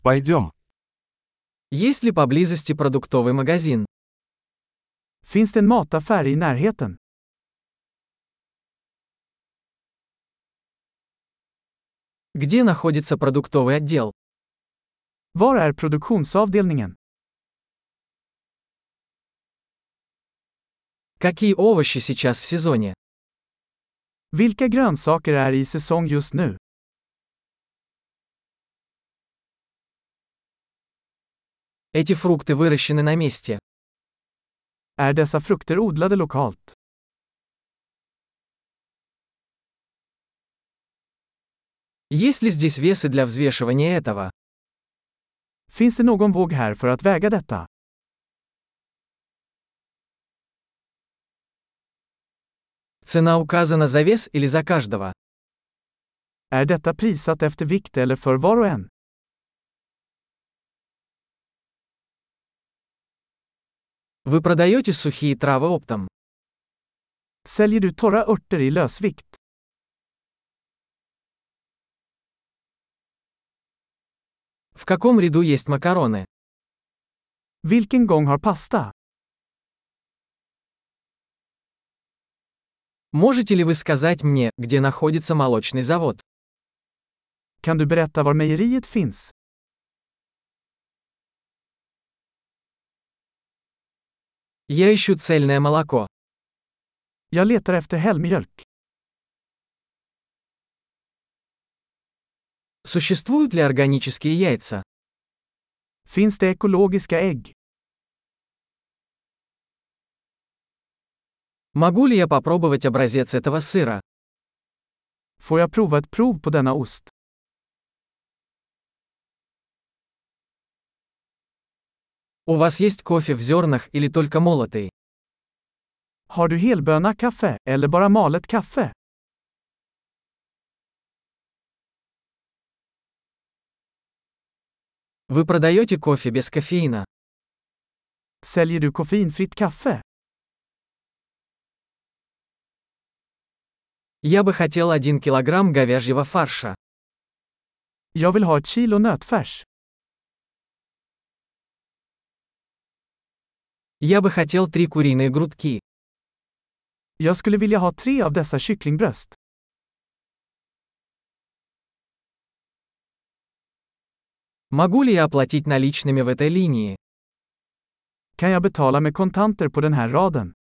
Пойдем. Есть ли поблизости продуктовый магазин? Finns det en mataffär i närheten? Где находится продуктовый отдел? Var är produktionsavdelningen? Какие овощи сейчас в сезоне? Vilka grönsaker är i säsong just nu? Эти фрукты выращены на месте. Är dessa frukter odlade lokalt? Есть ли здесь весы для взвешивания этого? Finns det någon våg här för att väga detta? Цена указана за вес или за каждого? Är detta prissatt efter vikt eller för var och en? Вы продаете сухие травы оптом? Säljer du torra örter i lösvikt? В каком ряду есть макароны? Vilken gång har pasta? Можете ли вы сказать мне, где находится молочный завод? Kan du berätta var mejeriet finns? Я ищу цельное молоко. Jag letar efter helmjölk. Существуют ли органические яйца? Finns det ekologiska ägg? Могу ли я попробовать образец этого сыра? Får jag prova ett prov på denna ost? У вас есть кофе в зернах или только молотый? Har du helböna kaffe, eller bara malet kaffe? Вы продаете кофе без кофеина? Säljer du koffeinfritt kaffe? Я бы хотел 1 килограмм говяжьего фарша. Jag vill ha ett kilo nötfärs. Я бы хотел 3 куриные грудки. Jag skulle vilja ha 3 av dessa kycklingbröst. Могу ли я оплатить наличными в этой линии? Kan jag betala med kontanter på den här raden?